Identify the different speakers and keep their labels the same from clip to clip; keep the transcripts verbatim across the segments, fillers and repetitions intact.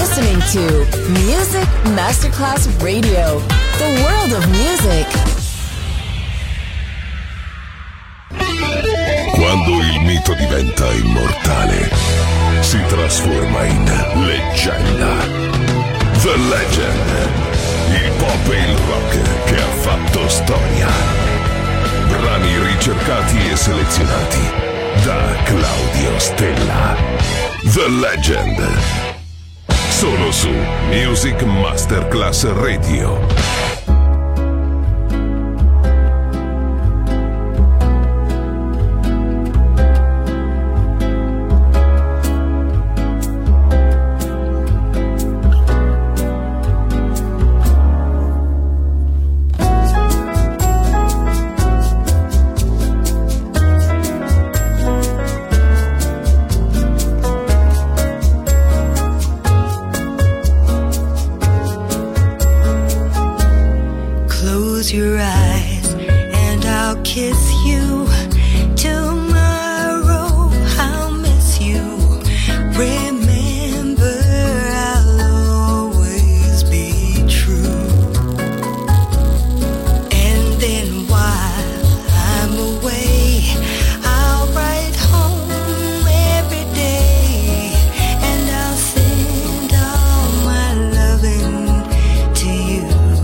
Speaker 1: listening to Music Masterclass Radio, the world of music.
Speaker 2: Quando il mito diventa immortale, si trasforma in leggenda. The Legend. Il pop e il rock che ha fatto storia. Brani ricercati e selezionati da Claudio Stella. The Legend. Solo su Music Masterclass Radio.
Speaker 3: Your eyes and I'll kiss you. Tomorrow I'll miss you. Remember, I'll always be true. And then while I'm away, I'll write home every day, and I'll send all my loving to you.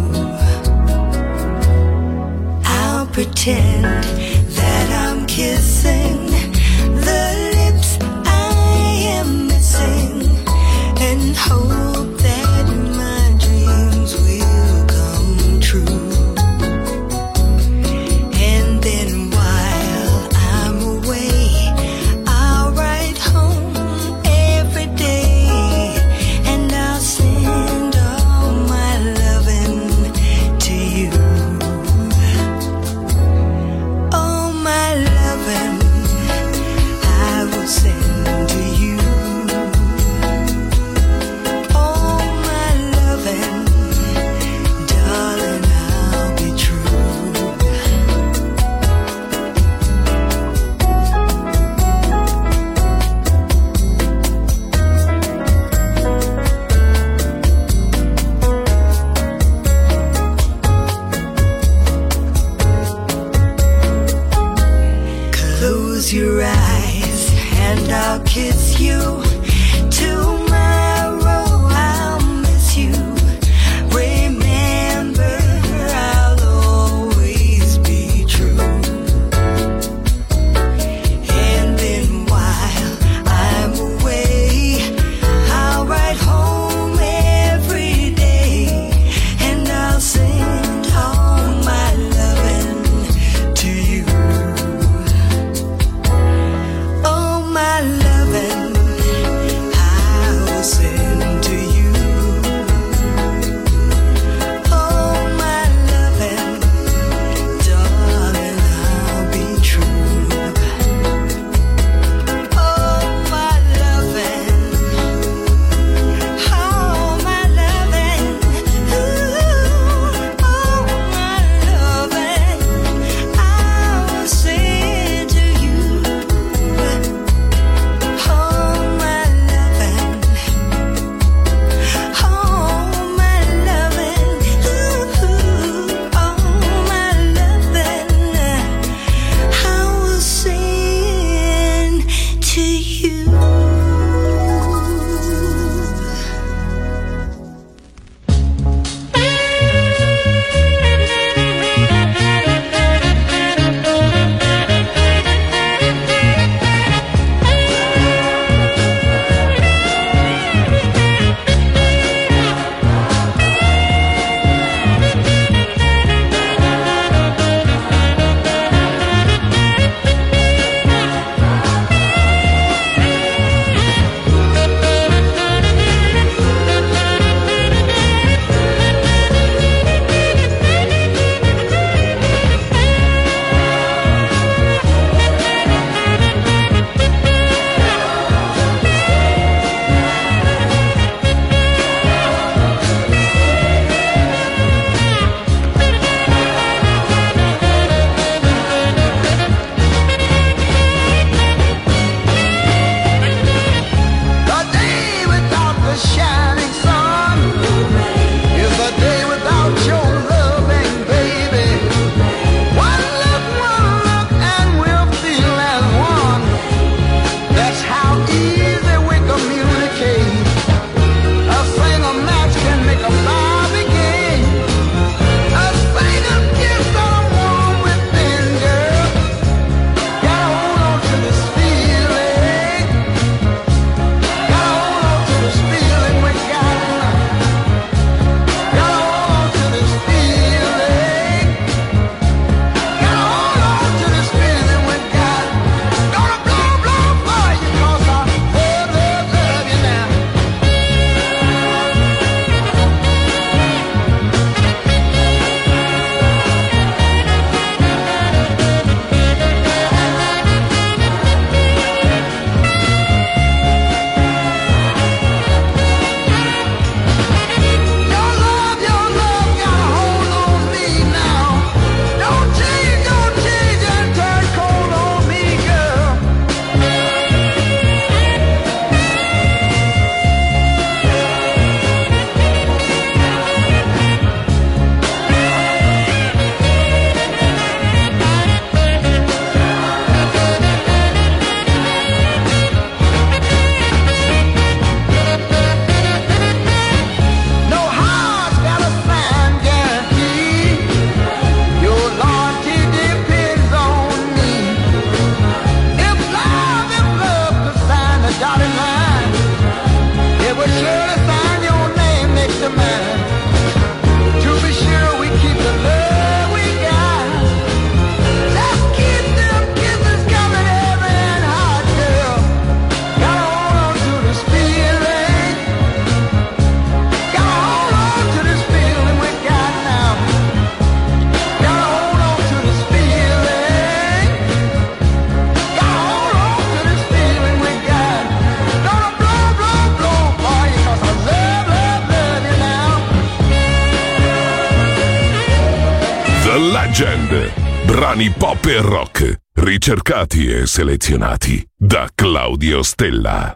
Speaker 3: Pretend that I'm kissing the lips I am missing, and hope that my dreams will come true. And then while I'm away, I'll write home every day, and I'll send all my loving to you.
Speaker 2: Legend. Brani pop e rock, ricercati e selezionati da Claudio Stella.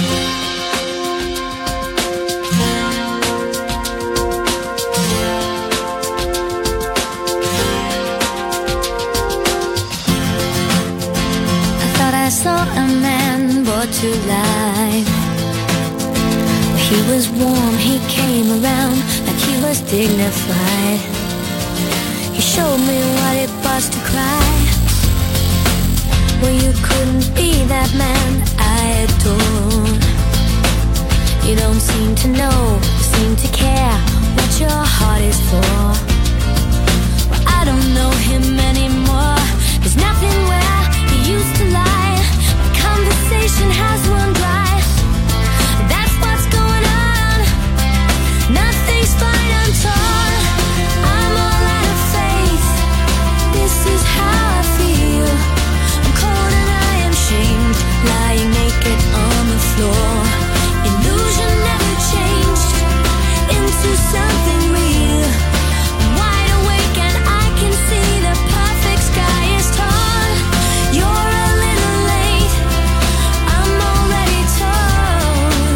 Speaker 4: I saw a man brought to life. He was warm, he came around like he was dignified. He showed me what it was to cry. Well, you couldn't be that man I adore. You don't seem to know, seem to care what your heart is for. Well, I don't know him anymore. There's nothing where he used to lie. Conversation has run dry. That's what's going on. Nothing's fine, I'm torn. I'm all out of faith. This is how I feel. I'm cold and I am shamed, lying naked on the floor. Illusion never changed into something real. I'm wide awake and I can see the perfect sky is torn. You're a little late, I'm already torn.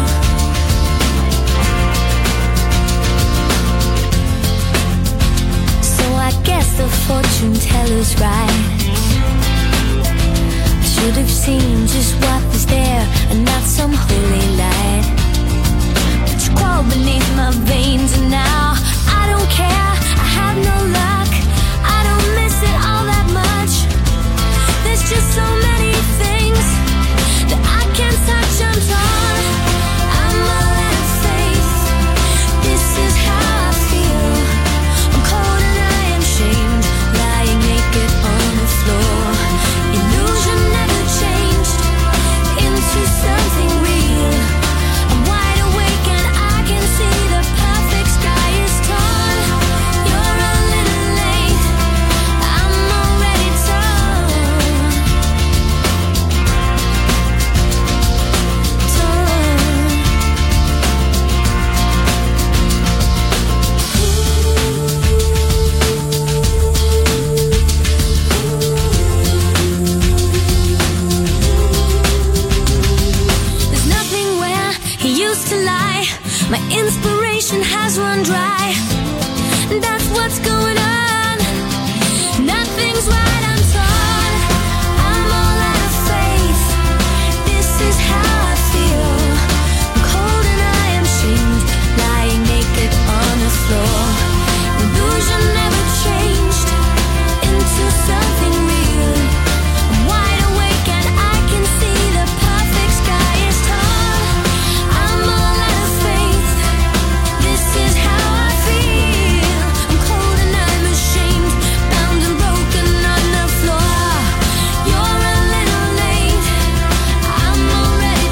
Speaker 4: So I guess the fortune teller's right. I should have seen just what was there and not some holy light. But you crawled beneath my veins and now I don't care, I have no luck. I don't miss it all that much. There's just so many things that I can't touch, I'm torn. I'm all out of faith. This is how I feel. I'm cold and I am shamed, lying naked on the floor. Illusion never changed into something real. I'm wide awake and I can see the perfect sky is torn. You're a little late, I'm already torn. There's nothing where he used to lie. My inspiration has run dry. That's what's going on. Nothing's right, I'm torn. I'm all out of faith. This is how I feel. I'm cold and I am shamed, lying naked on the floor. Illusion never changed into something real. I'm wide awake and I can see the perfect sky is torn. I'm all out of faith. This is how I feel. I'm cold and I'm ashamed, bound and broken on the floor. You're a little late, I'm already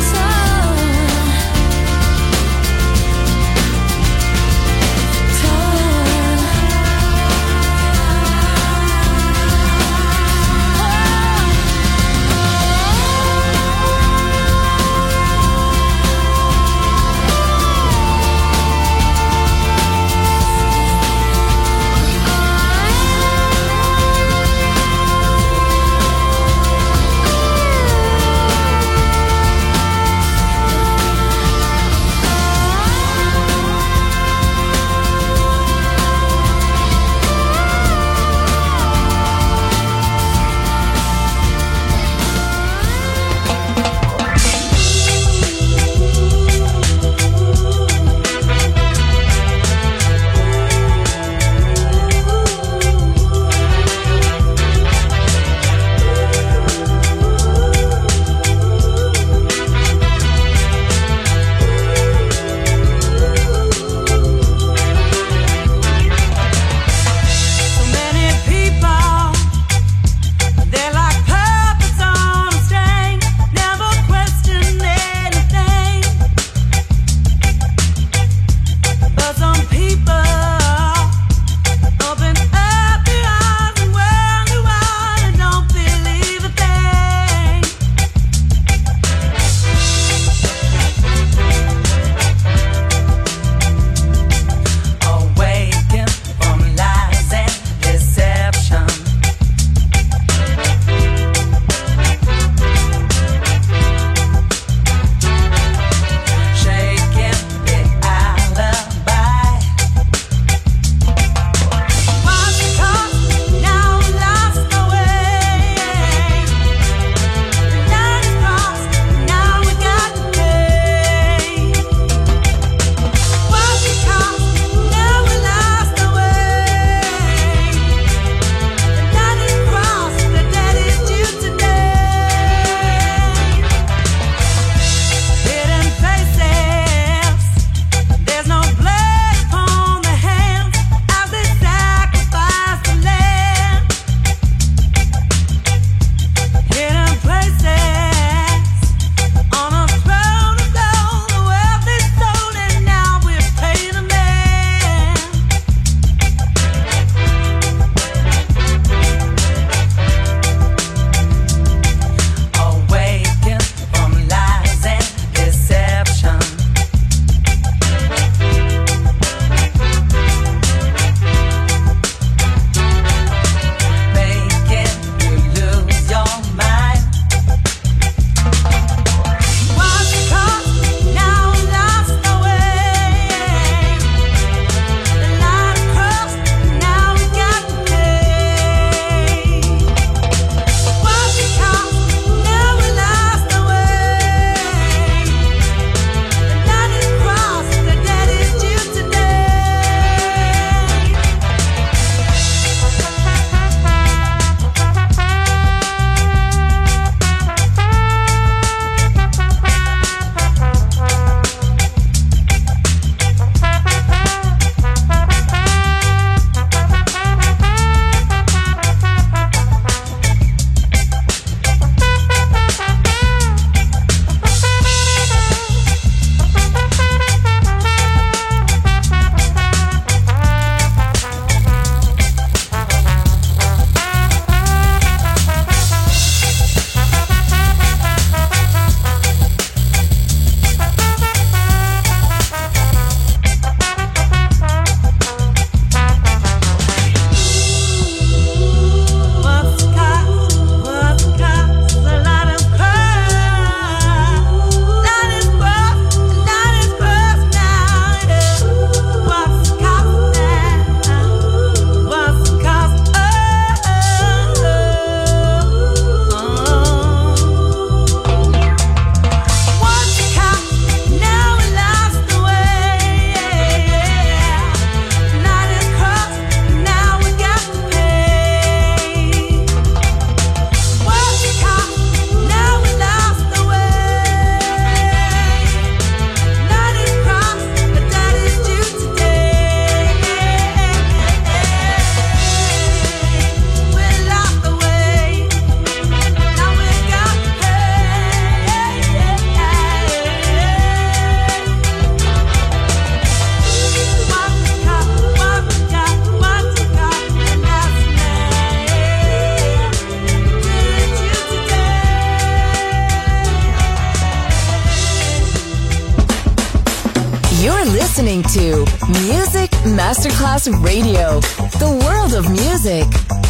Speaker 1: You're listening to Music Masterclass Radio, the world of music.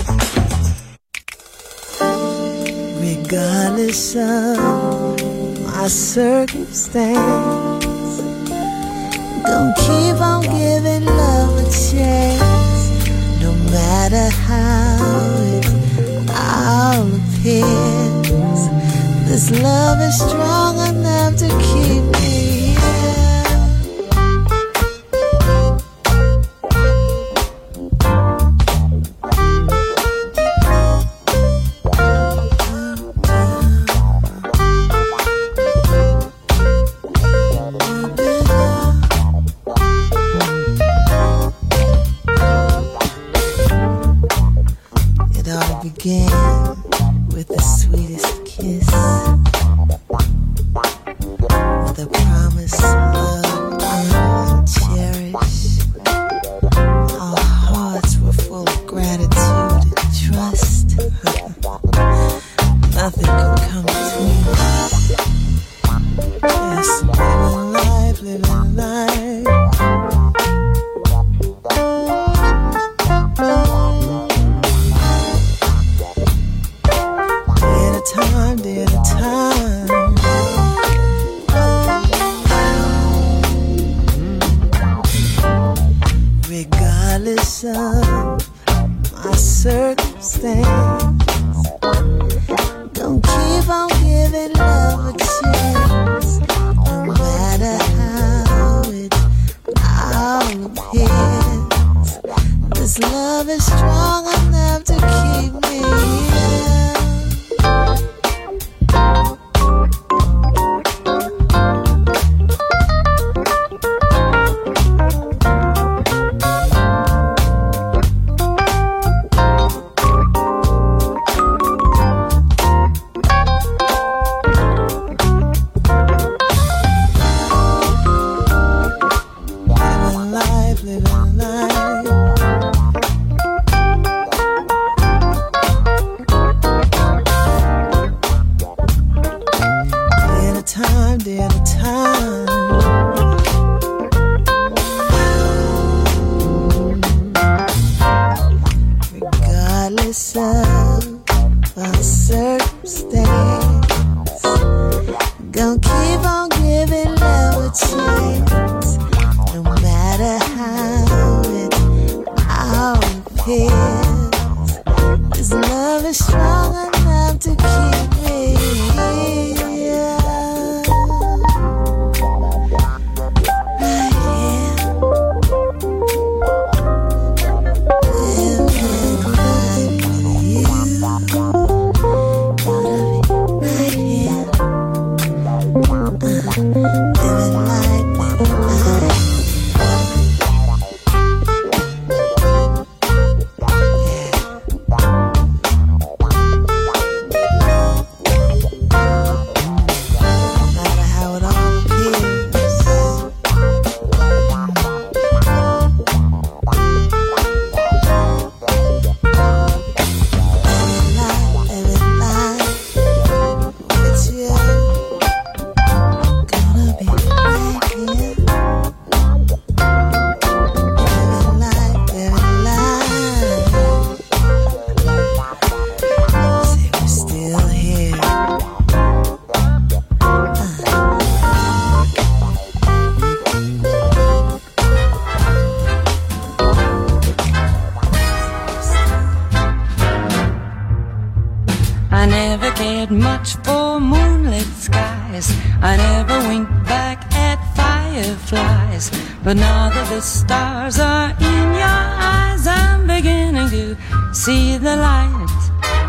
Speaker 5: Regardless of my circumstance, gonna keep on giving love a chance, no matter how it all appears. This love is strong enough to keep me here. It all began with the sweetest kiss, with a promise of love and cherish. Our hearts were full of gratitude and trust. Nothing could come between us. Just living life, living life. Time, day at a time. Regardless of my circumstance, don't keep on giving love a chance, no matter how it all appears. This love is strong enough to keep me here.
Speaker 6: But now that the stars are in your eyes, I'm beginning to see the light.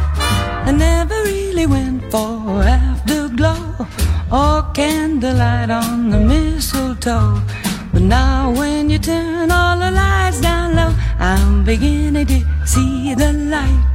Speaker 6: I never really went for afterglow or candlelight on the mistletoe. But now when you turn all the lights down low, I'm beginning to see the light.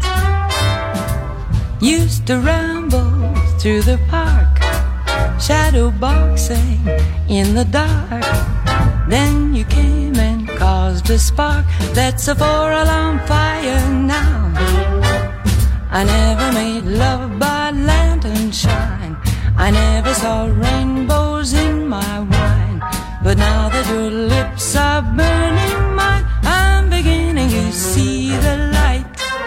Speaker 6: Used to ramble through the park, shadow boxing in the dark. Then you came and caused a spark that's a four-alarm fire now. I never made love by lantern shine, I never saw rainbows in my wine. But now that that your lips are burning mine, I'm beginning to see the light.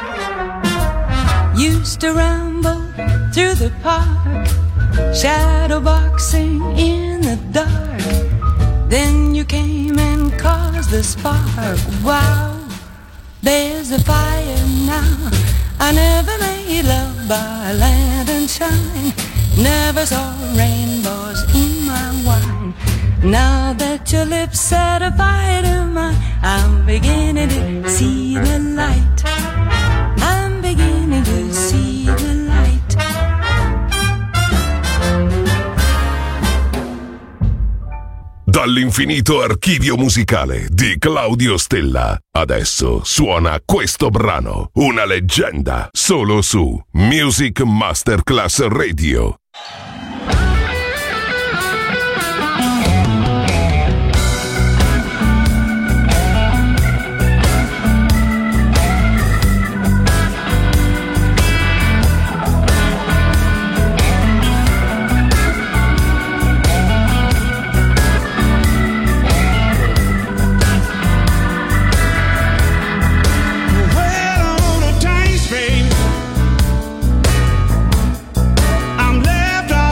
Speaker 6: Used to ramble through the park, shadow boxing in the dark. Then you came and caused the spark. Wow, there's a fire now. I never made love by lantern shine, never saw rainbows in my wine. Now that your lips set a fire to mine, I'm beginning to see the light. I'm beginning to see the light.
Speaker 2: Dall'infinito archivio musicale di Claudio Stella, adesso suona questo brano, una leggenda, solo su Music Masterclass Radio.
Speaker 7: I'm left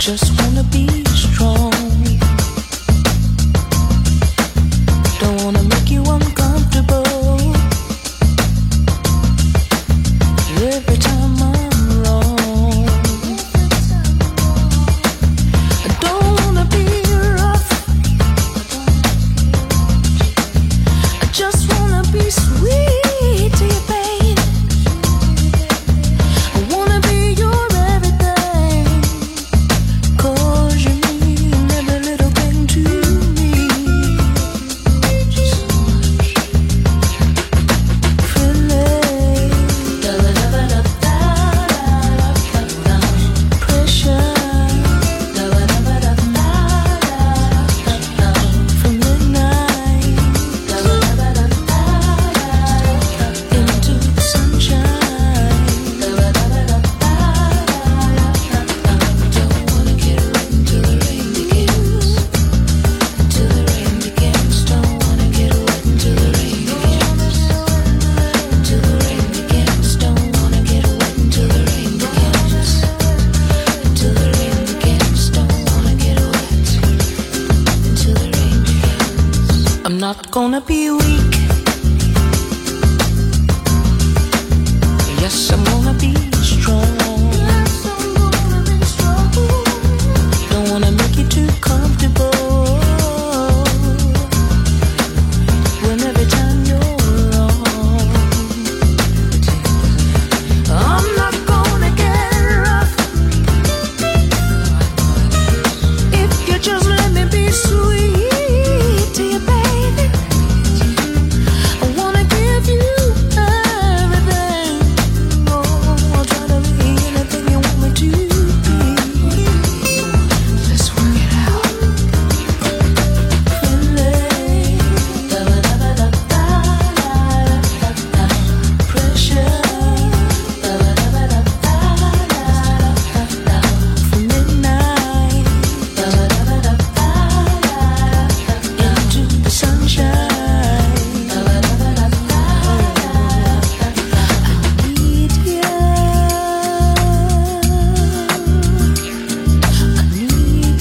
Speaker 5: just wanna be strong. Don't wanna make you uncomfortable. Every time I'm wrong, I don't wanna be rough. I just wanna be sweet to you, babe. I wanna be your everything, 'cause you mean every little thing to me. I'm not gonna be weak. Yes, I'm gonna be strong. Don't wanna make you too comfortable. When every time you're wrong, I'm not gonna get rough. If you just let me be sweet to you, baby. I wanna give you everything. Oh, I'll try to be anything you want me to be. Let's work it out. Pressure. From midnight into the sunshine. I need you. I need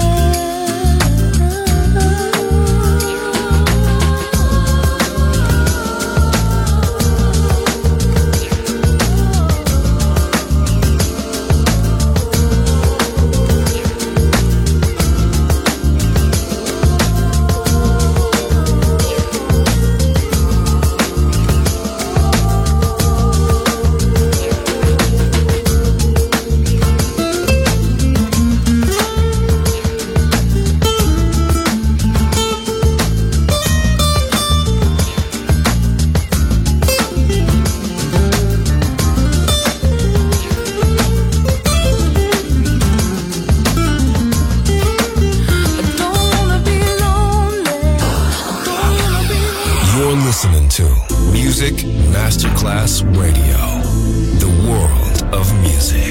Speaker 5: I don't wanna be lonely. I don't wanna be
Speaker 7: You're listening to Music Masterclass Radio, the world of music.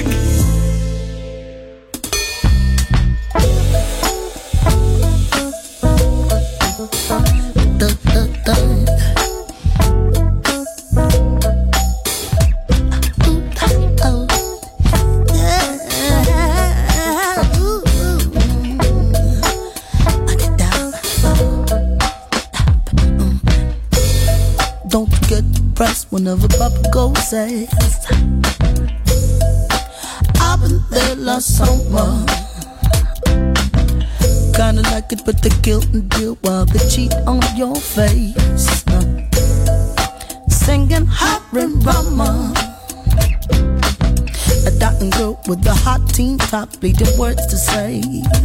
Speaker 5: Don't get depressed whenever Papa Go says I've been there last summer. Kinda like it, but they guilt and deal while they cheat on your face. Singing Harry Rama, a dying girl with a hot teen top, bleeding words to say.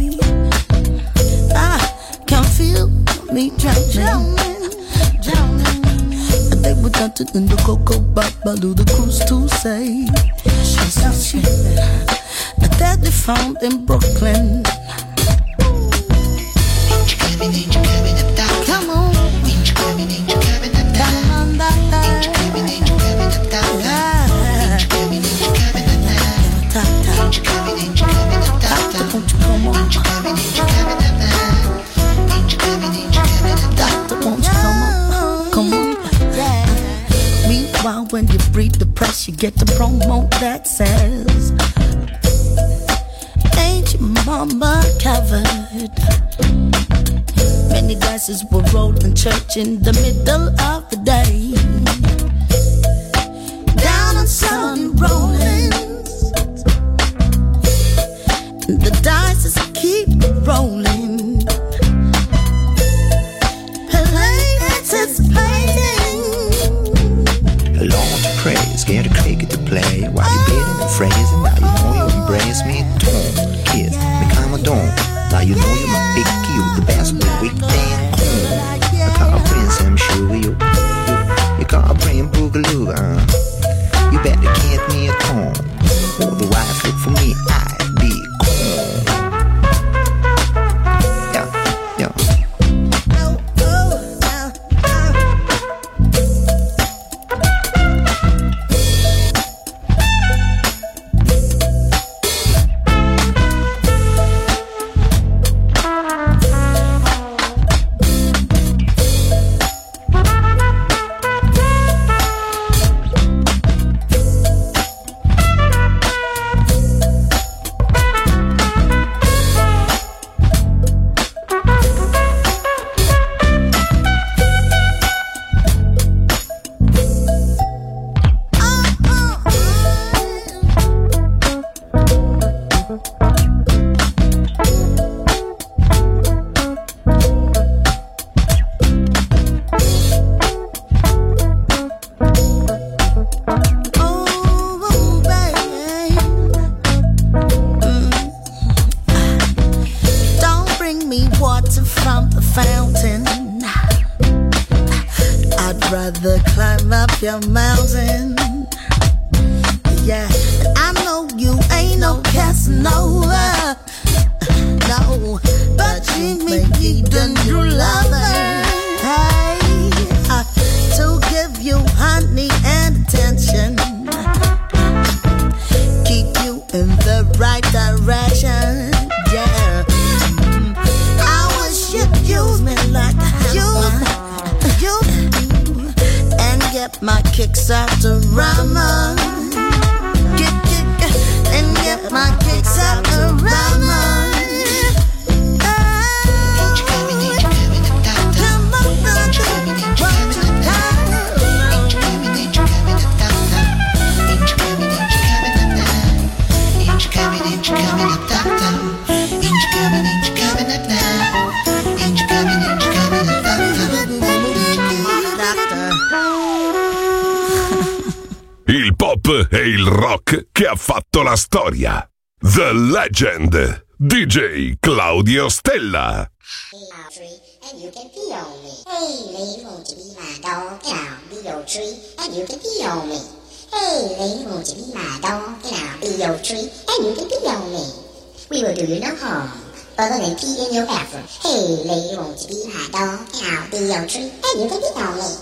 Speaker 5: I can feel me drowning, drowning. And they were dancing in the Coco Babalu, the cruise to say. That they found in Brooklyn. Come on. Come on, Doctor, won't you come on? Doctor, won't you come on? Come on. Meanwhile, when you breathe the press, you get the promo that says, ain't you mama covered. Many dices were rolled in church in the middle of the day. Down on Sun Rollins, the dices keep rolling. Anticipating.
Speaker 8: Along to pray, scared of cricket to play. While you bidding and phrasing, now you know you embrace me. Tone, kiss, me calm down. Now you know you're my big cue, the best of the weekend. I call Prince, I'm sure you. You call Prince Boogaloo, uh. You better get me a tone. Otherwise, look for me, I'd be gone. Yeah, yeah.
Speaker 5: Your mountain, yeah. And I know you ain't no Casanova, no, but you may need a new lover, hey, uh, to give you honey and attention, keep you in the right direction, yeah. I wish you'd use me like you, you. Get my kicks out the rama. Get, get, and get my kicks out the rama.
Speaker 2: Il pop e il rock che ha fatto la storia. The Legend, D J Claudio Stella.
Speaker 9: And you can pee on me. Hey, lady, won't you be my dog? And I'll be your tree, and you can pee on me. Hey, lady, won't you be my dog? And I'll be your tree, and you can pee on me. We will do you no harm, other than pee in your bathroom. Hey, lady, won't you be my dog? And I'll be your tree, and you can pee on me.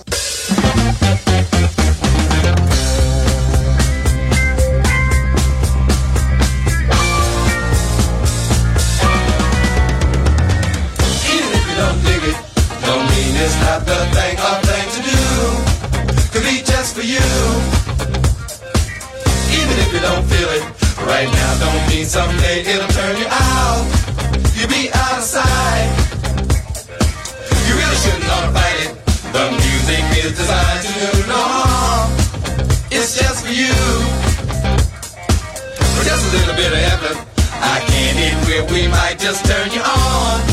Speaker 10: Don't mean it's not the thing or thing to do. Could be just for you. Even if you don't feel it right now, don't mean someday it'll turn you out. You'll be out of sight. You really shouldn't ought to fight it. The music is designed to do no harm. It's just for you. For just a little bit of effort, I can't hit where we might just turn you on.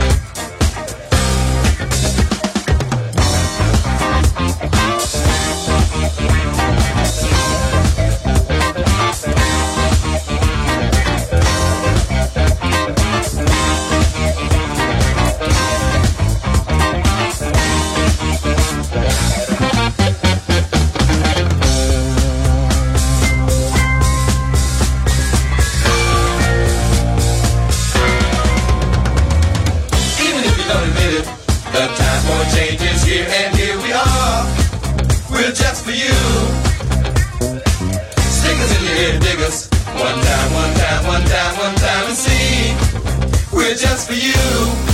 Speaker 10: Just for you.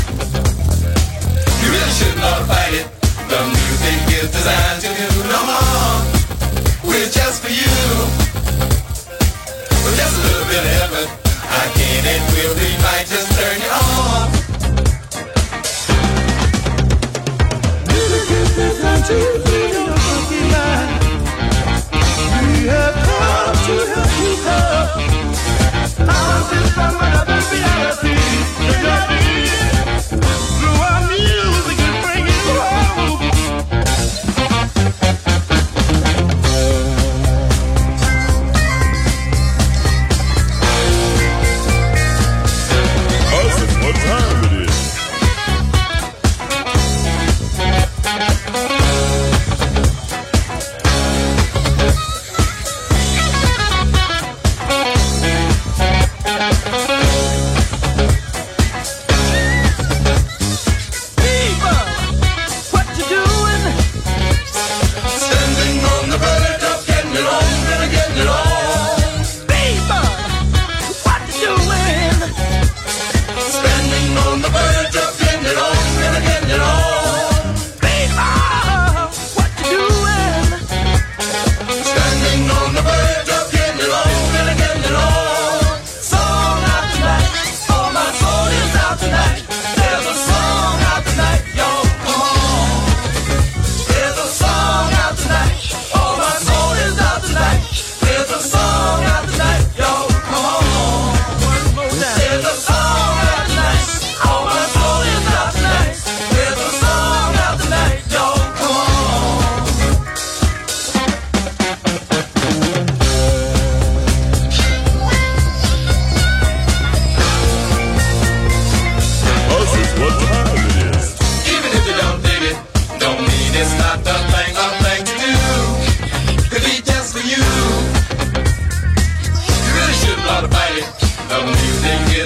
Speaker 10: You really shouldn't ought to fight it. The music is designed to do no harm. We're just for you. With just a little bit of effort, I can and will be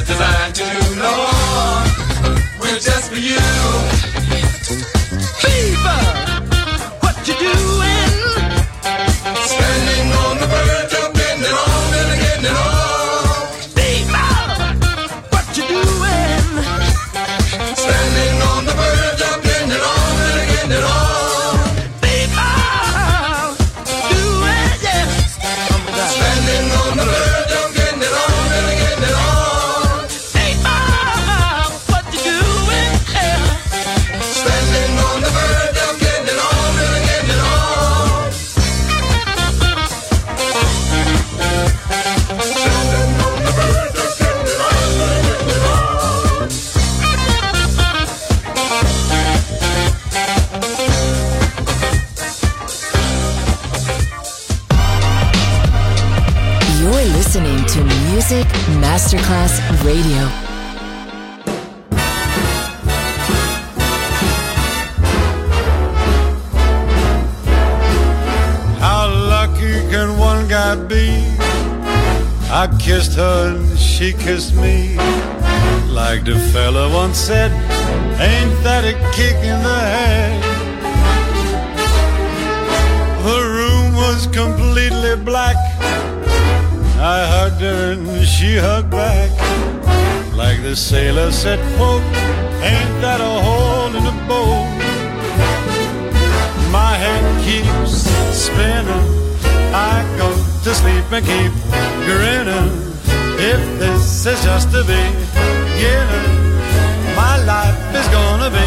Speaker 10: is designed to do, Lord, we're just for you.
Speaker 5: Fever, what you doing?
Speaker 10: Standing on the verge of getting it on and getting it on.
Speaker 5: Fever, what you doing?
Speaker 10: Standing on the verge of getting it on and getting it on.
Speaker 5: Fever, do it, yeah.
Speaker 10: Standing on the verge of getting it on and getting it on.
Speaker 5: Fever, what you doing? Yeah.
Speaker 10: Standing on the verge of getting it on and getting it on. Standing on the verge of getting it on and getting it on.
Speaker 1: You're listening to Music Masterclass Radio.
Speaker 11: How lucky can one guy be? I kissed her and she kissed me. Like the fella once said, ain't that a kick in the head? The room was completely black. I hugged her and she hugged back. Like the sailor said, quote, ain't that a hole in the boat? My head keeps spinning. I go to sleep and keep grinning. If this is just the beginning, my life is gonna be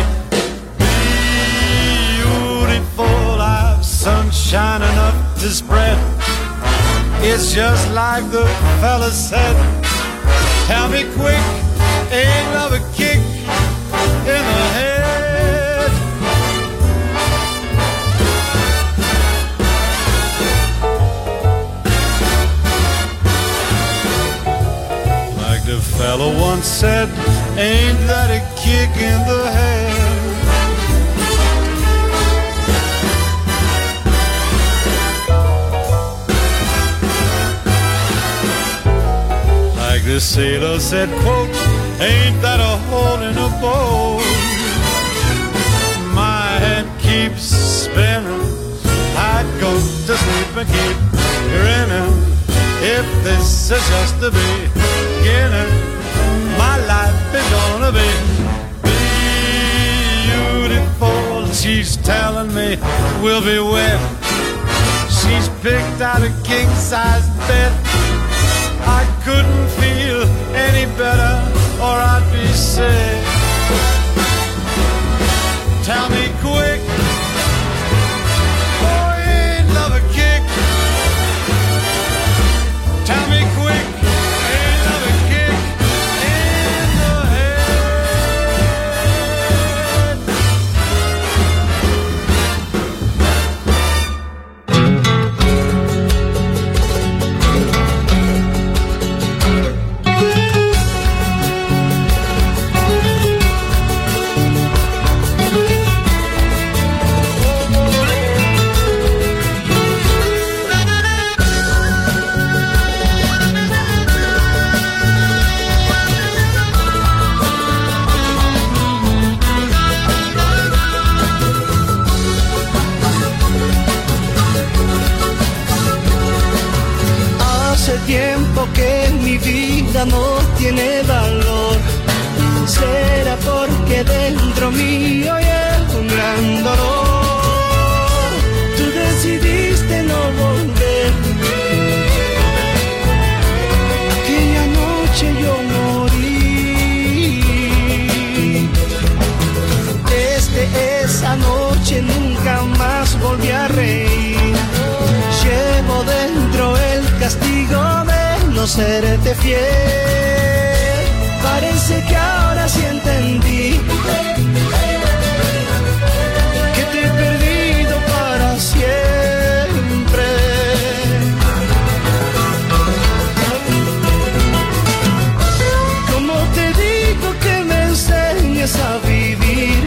Speaker 11: beautiful. I've sunshine enough to spread. It's just like the fella said. Tell me quick, ain't love a kick in the head? Like the fella once said, ain't that a kick in the head? The sailor said, quote, ain't that a hole in a boat? My head keeps spinning. I'd go to sleep and keep grinning. If this is just the beginning, my life is gonna be beautiful. She's telling me we'll be wet. She's picked out a king-size bed. I couldn't feel any better or I'd be sick. Tell me quick, oh, ain't love a kick? Tell me quick, ain't love a kick in the head?
Speaker 5: Tiempo que mi vida no tiene valor. Será porque dentro mío hay un gran dolor. Tú decidiste no volver. Aquella noche yo morí. Desde esa noche nunca más volví a reír. Llevo dentro el castigo de no serte fiel. Parece que ahora sí entendí que te he perdido para siempre. ¿Cómo te digo que me enseñes a vivir?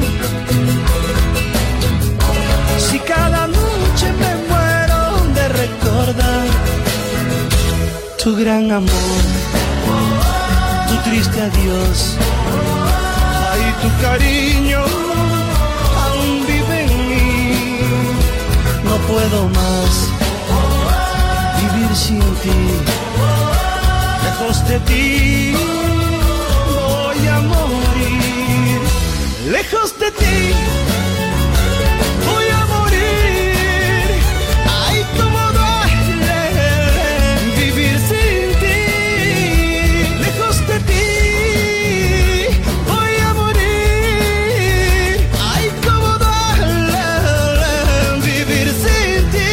Speaker 5: Si cada noche me muero de recordar tu gran amor, tu
Speaker 12: triste adiós. Ay, tu cariño aún vive en mí. No puedo más vivir sin ti. Lejos de ti voy a morir. Lejos de ti voy a morir. Ay, cómo duele vivir sin ti. Lejos de ti voy a morir. Ay, cómo duele vivir sin ti.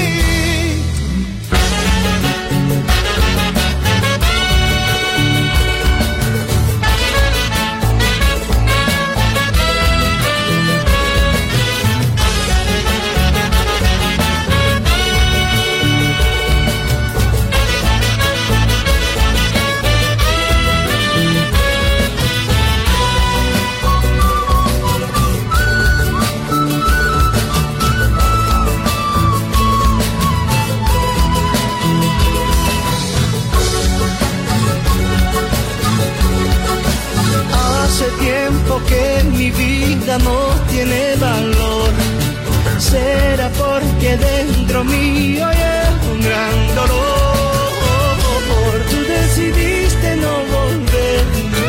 Speaker 12: Que mi vida no tiene valor. Será porque dentro mío hay un gran dolor. Tú decidiste no volver.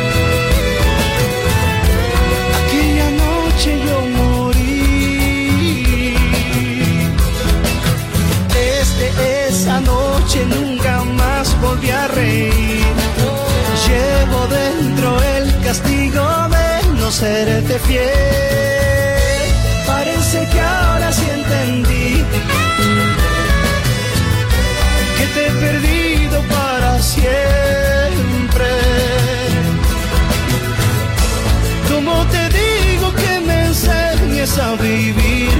Speaker 12: Aquella noche yo morí. Desde esa noche nunca más volví a reír. Llevo dentro el castigo de no serte fiel. Parece que ahora sí entendí que te he perdido para siempre. ¿Cómo te digo que me enseñes a vivir?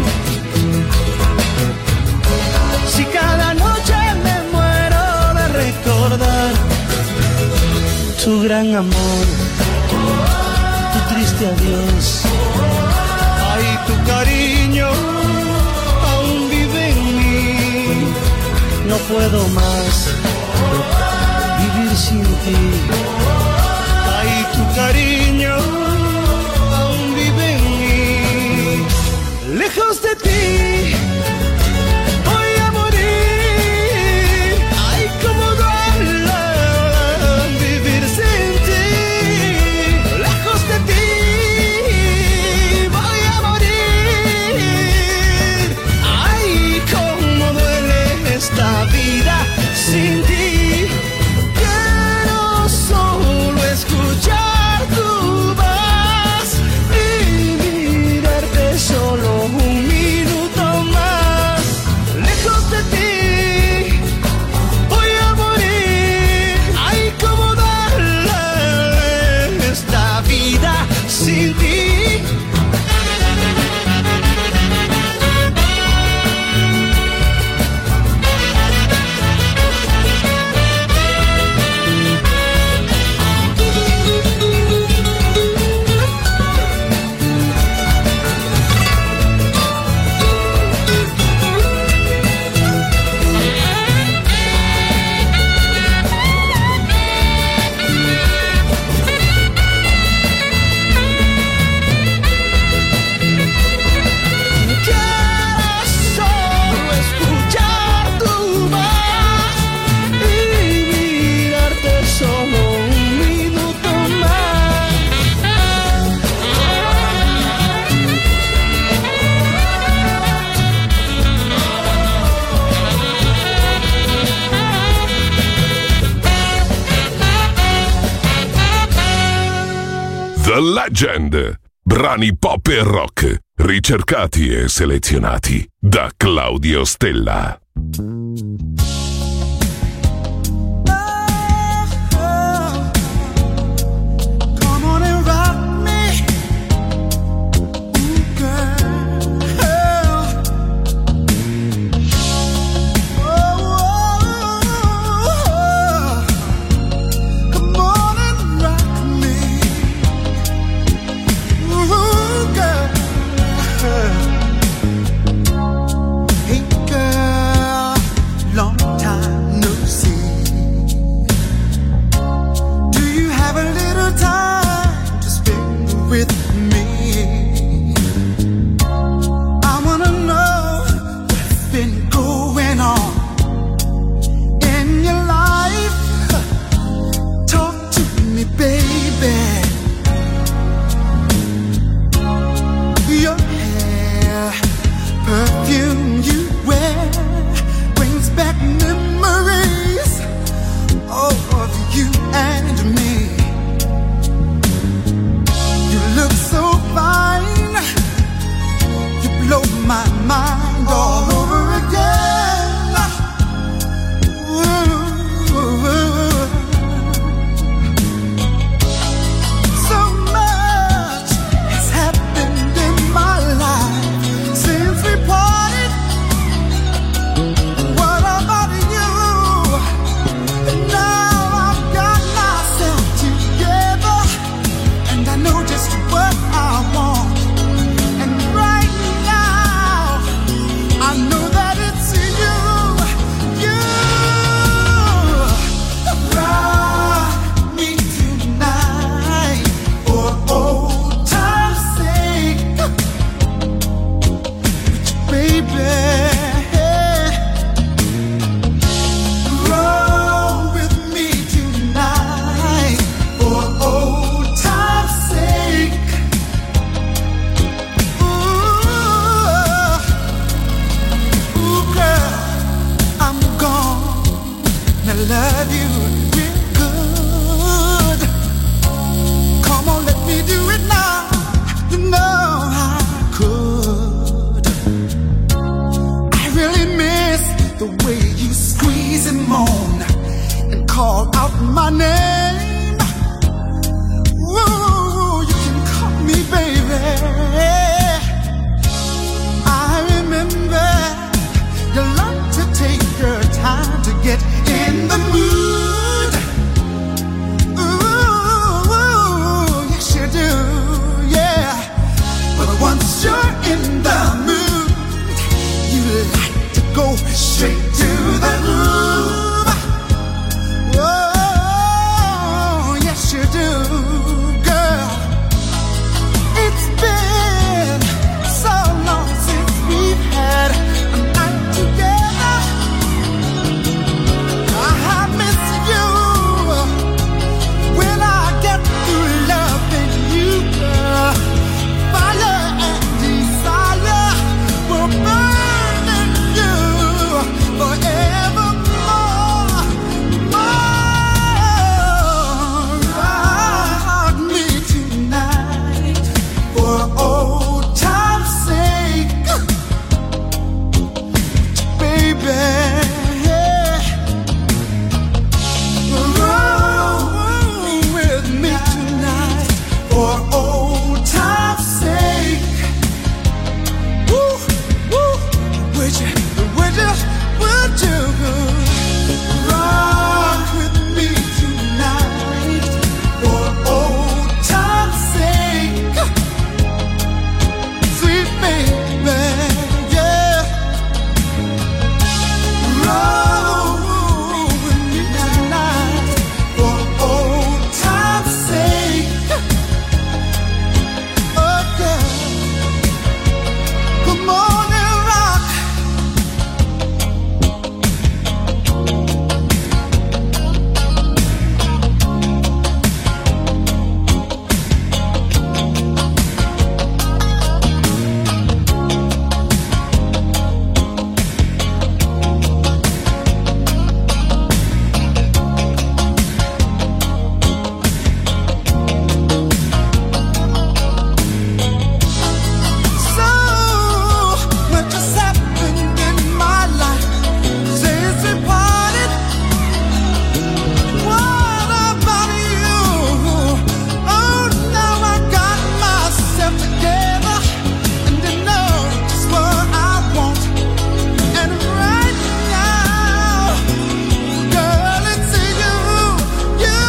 Speaker 12: Si cada noche me muero de recordar tu gran amor, tu triste adiós. Ay, tu cariño aún vive en mí. No puedo más vivir sin ti. Ay, tu cariño aún vive en mí. Lejos de ti voy a morir. Ay, cómo duele vivir sin ti. Lejos de ti voy a morir. Ay, cómo duele esta vida sin ti. Quiero solo escuchar tu voz y mirarte solo un minuto más. Lejos de ti voy a morir. Ay, cómo duele esta vida sin ti.
Speaker 2: The Legend. Brani pop e rock, ricercati e selezionati da Claudio Stella.
Speaker 5: Come on and rock me, ooh, girl. Oh, oh, oh. Come on and rock me, ooh, girl. Hey, girl.
Speaker 13: love you real good. Come on, let me do it now. You know I could. I really miss the way you squeeze and moan and call out my name. Ooh, you can call me baby. I remember you like to take your time to get in the mood. Ooh, yes you do, yeah. But once you're in the mood, you like to go straight to the groove. Oh, yes you do, girl. It's been so long since we've had a night together. I miss you when I get through loving you, girl. Fire and desire will burn in you forevermore. Oh, rock me tonight for old time's sake, baby. Roll with me tonight for old time's sake. Woo, woo. Would you, would you, would you rock with me tonight for old time's sake? Sweet baby, yeah. Roll with me tonight for old time's sake. Oh, girl, come on and rock. So, what just happened in my life since we parted? What about you? Oh, now I got myself together and I know just what I want. And right now, girl, it's you, you.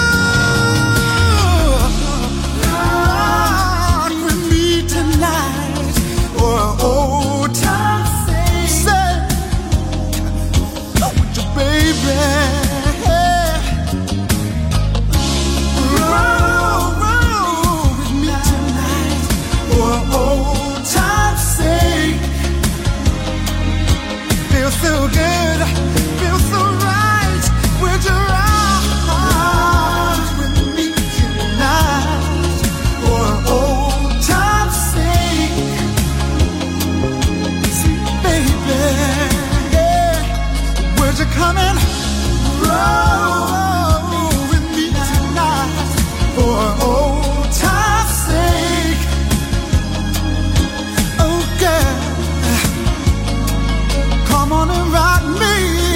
Speaker 13: Rock with me tonight for old time's sake. Oh, with your baby. Roll, roll with me tonight for old time's sake. Feels so good, feels so right. Would you rock with me tonight for old time's sake? Sweet baby, yeah. Would you come and roll with me tonight for old time's sake? Oh, girl, come on and rock me.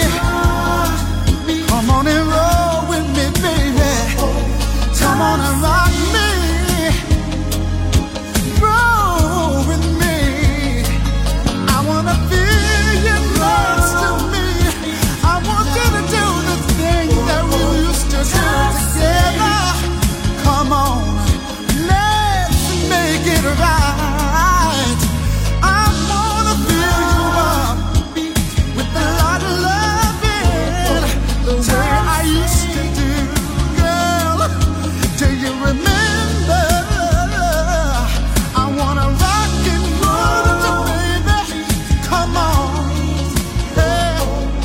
Speaker 13: Come on and roll with me, baby. Come on and rock me. Roll with me. I wanna feel you close to me. I want you to do the thing that we used to do together. Come on, let's make it right. I wanna fill you up with a lot of loving, the way I used to do, girl. Do you remember? I wanna rock and roll with you, baby. Come on, hey.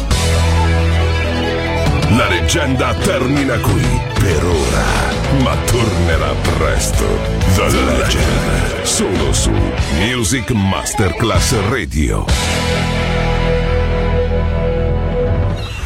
Speaker 2: La leggenda termina qui per ora, ma tornerà presto. The Legend, solo su Music Masterclass Radio.